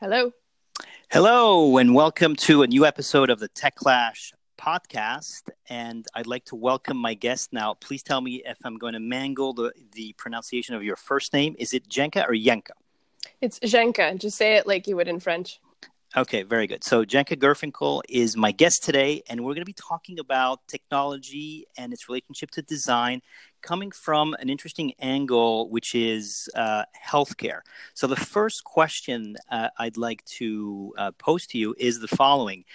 Hello. Hello, and welcome to a new episode of the Tech Clash podcast. And I'd like to welcome my guest now. Please tell me if I'm going to mangle the pronunciation of your first name. Is it Jenka or Yenka? It's Jenka. Just say it like you would in French. Okay, very good. So Jenka Gerfinkel is my guest today, and we're going to be talking about technology and its relationship to design, coming from an interesting angle, which is healthcare. So the first question I'd like to pose to you is the following.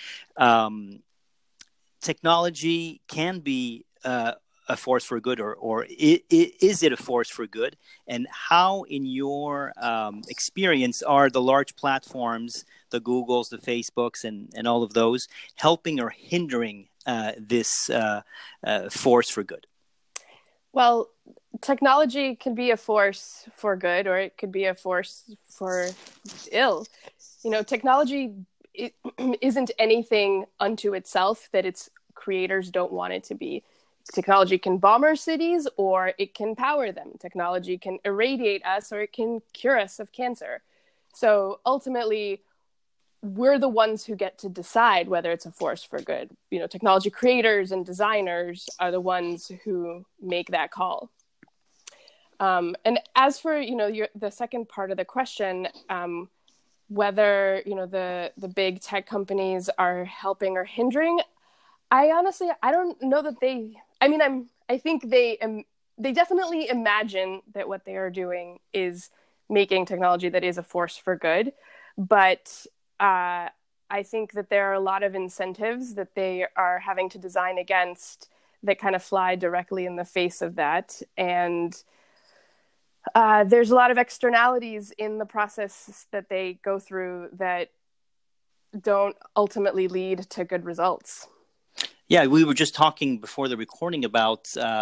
Technology can be a force for good, or is it a force for good? And how, in your experience, are the large platforms, the Googles, the Facebooks, and all of those, helping or hindering this force for good? Well, technology can be a force for good, or it could be a force for ill. You know, technology isn't anything unto itself that its creators don't want it to be. Technology can bomb our cities, or it can power them. Technology can irradiate us, or it can cure us of cancer. So ultimately, we're the ones who get to decide whether it's a force for good. You know, technology creators and designers are the ones who make that call. And as for, the second part of the question, whether, the big tech companies are helping or hindering, I don't know that I think they definitely imagine that what they are doing is making technology that is a force for good. But I think that there are a lot of incentives that they are having to design against that kind of fly directly in the face of that. And there's a lot of externalities in the process that they go through that don't ultimately lead to good results. Yeah, we were just talking before the recording about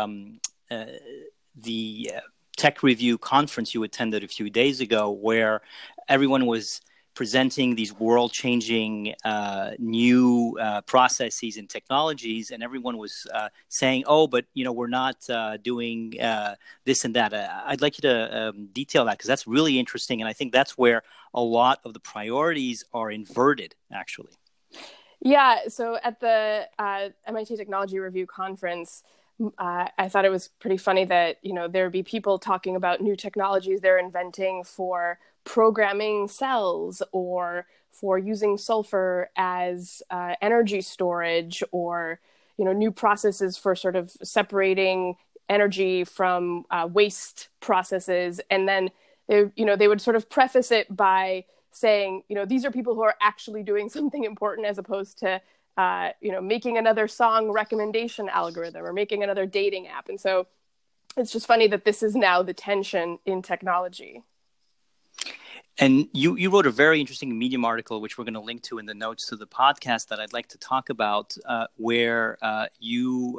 the tech review conference you attended a few days ago, where everyone was presenting these world-changing new processes and technologies, and everyone was saying, "Oh, but we're not doing this and that." I'd like you to detail that, because that's really interesting, and I think that's where a lot of the priorities are inverted, actually. Yeah, so at the MIT Technology Review Conference, I thought it was pretty funny that, there would be people talking about new technologies they're inventing for programming cells, or for using sulfur as energy storage, or, new processes for sort of separating energy from waste processes. And then, they would sort of preface it by saying, these are people who are actually doing something important, as opposed to, making another song recommendation algorithm or making another dating app. And so it's just funny that this is now the tension in technology. And you wrote a very interesting Medium article, which we're going to link to in the notes to the podcast, that I'd like to talk about, where you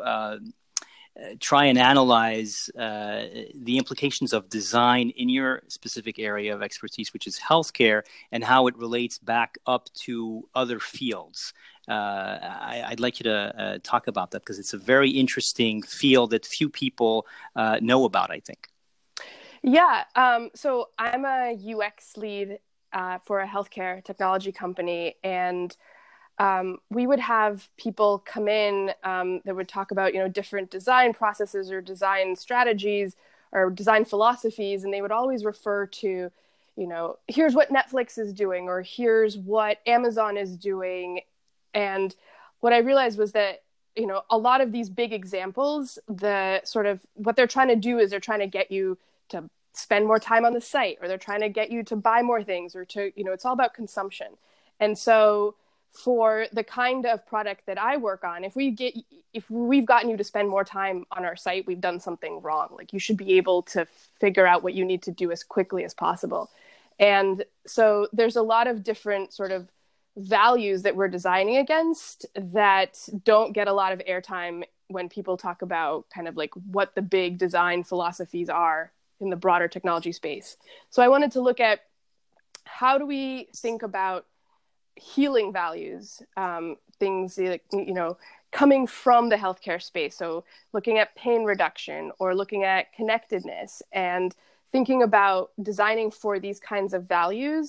try and analyze the implications of design in your specific area of expertise, which is healthcare, and how it relates back up to other fields. I'd like you to talk about that, because it's a very interesting field that few people know about, I think. Yeah. So I'm a UX lead for a healthcare technology company, and we would have people come in that would talk about, different design processes or design strategies or design philosophies. And they would always refer to, here's what Netflix is doing, or here's what Amazon is doing. And what I realized was that, a lot of these big examples, the sort of what they're trying to do is they're trying to get you to spend more time on the site, or they're trying to get you to buy more things, or to, it's all about consumption. And so for the kind of product that I work on, if we've gotten you to spend more time on our site, we've done something wrong. Like, you should be able to figure out what you need to do as quickly as possible. And so there's a lot of different sort of values that we're designing against that don't get a lot of airtime when people talk about kind of like what the big design philosophies are in the broader technology space. So I wanted to look at, how do we think about healing values, things like, coming from the healthcare space. So looking at pain reduction, or looking at connectedness, and thinking about designing for these kinds of values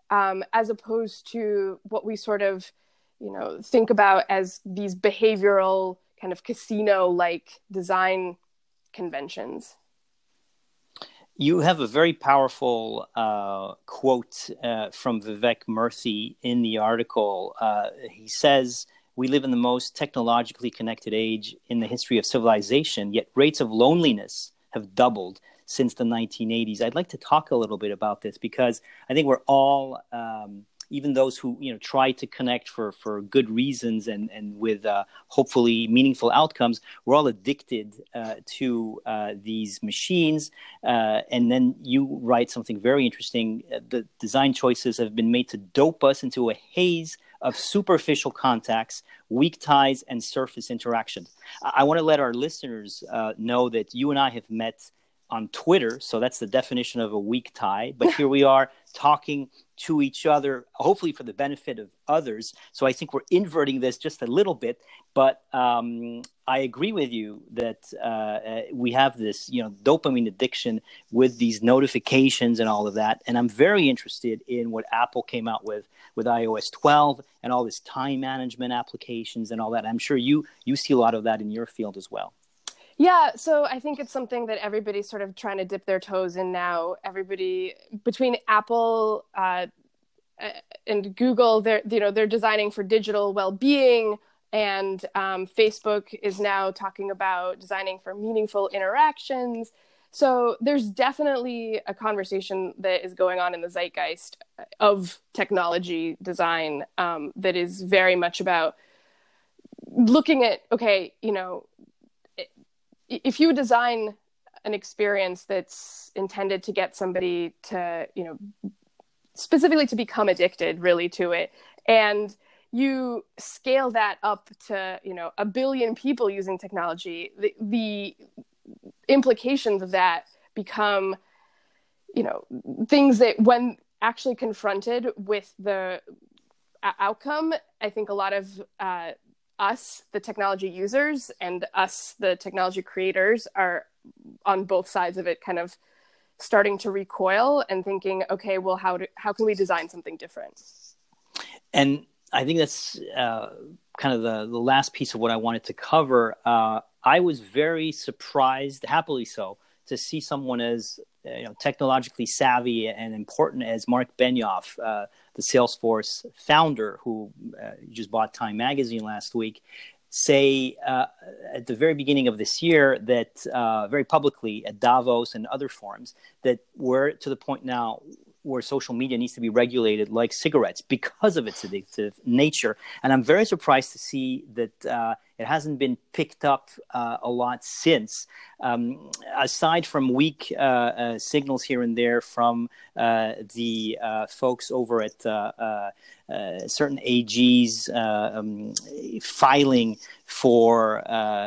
as opposed to what we sort of, think about as these behavioral kind of casino-like design conventions. You have a very powerful quote from Vivek Murthy in the article. He says, "We live in the most technologically connected age in the history of civilization, yet rates of loneliness have doubled since the 1980s. I'd like to talk a little bit about this because I think we're all, even those who try to connect for good reasons and with hopefully meaningful outcomes, we're all addicted to these machines. And then you write something very interesting. The design choices have been made to dope us into a haze of superficial contacts, weak ties, and surface interactions. I want to let our listeners know that you and I have met on Twitter, so that's the definition of a weak tie. But here we are talking to each other, hopefully for the benefit of others. So I think we're inverting this just a little bit. But I agree with you that we have this, dopamine addiction with these notifications and all of that. And I'm very interested in what Apple came out with iOS 12 and all this time management applications and all that. I'm sure you see a lot of that in your field as well. Yeah, so I think it's something that everybody's sort of trying to dip their toes in now. Everybody between Apple and Google, they're designing for digital well-being, and Facebook is now talking about designing for meaningful interactions. So there's definitely a conversation that is going on in the zeitgeist of technology design that is very much about looking at, okay, if you design an experience that's intended to get somebody to, specifically to become addicted really to it, and you scale that up to, 1 billion people using technology, the implications of that become, things that when actually confronted with the outcome, I think a lot of us, the technology users, and us, the technology creators, are on both sides of it kind of starting to recoil and thinking, okay, well, how can we design something different? And I think that's kind of the last piece of what I wanted to cover. I was very surprised, happily so, to see someone as technologically savvy and important as Mark Benioff, the Salesforce founder who just bought Time Magazine last week, say at the very beginning of this year that very publicly at Davos and other forums that we're to the point now where social media needs to be regulated like cigarettes because of its addictive nature. And I'm very surprised to see that it hasn't been picked up a lot since. Aside from weak signals here and there from the folks over at certain AGs filing for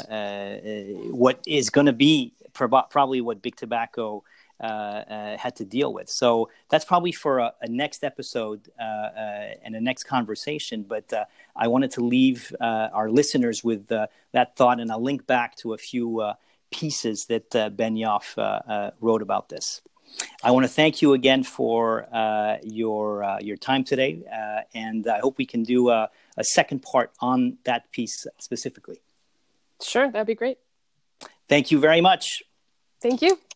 what is going to be probably what Big Tobacco had to deal with. So that's probably for a next episode and a next conversation. But I wanted to leave our listeners with that thought, and I'll link back to a few pieces that Benioff wrote about this. I want to thank you again for your time today, and I hope we can do a second part on that piece specifically. Sure, that'd be great. Thank you very much. Thank you.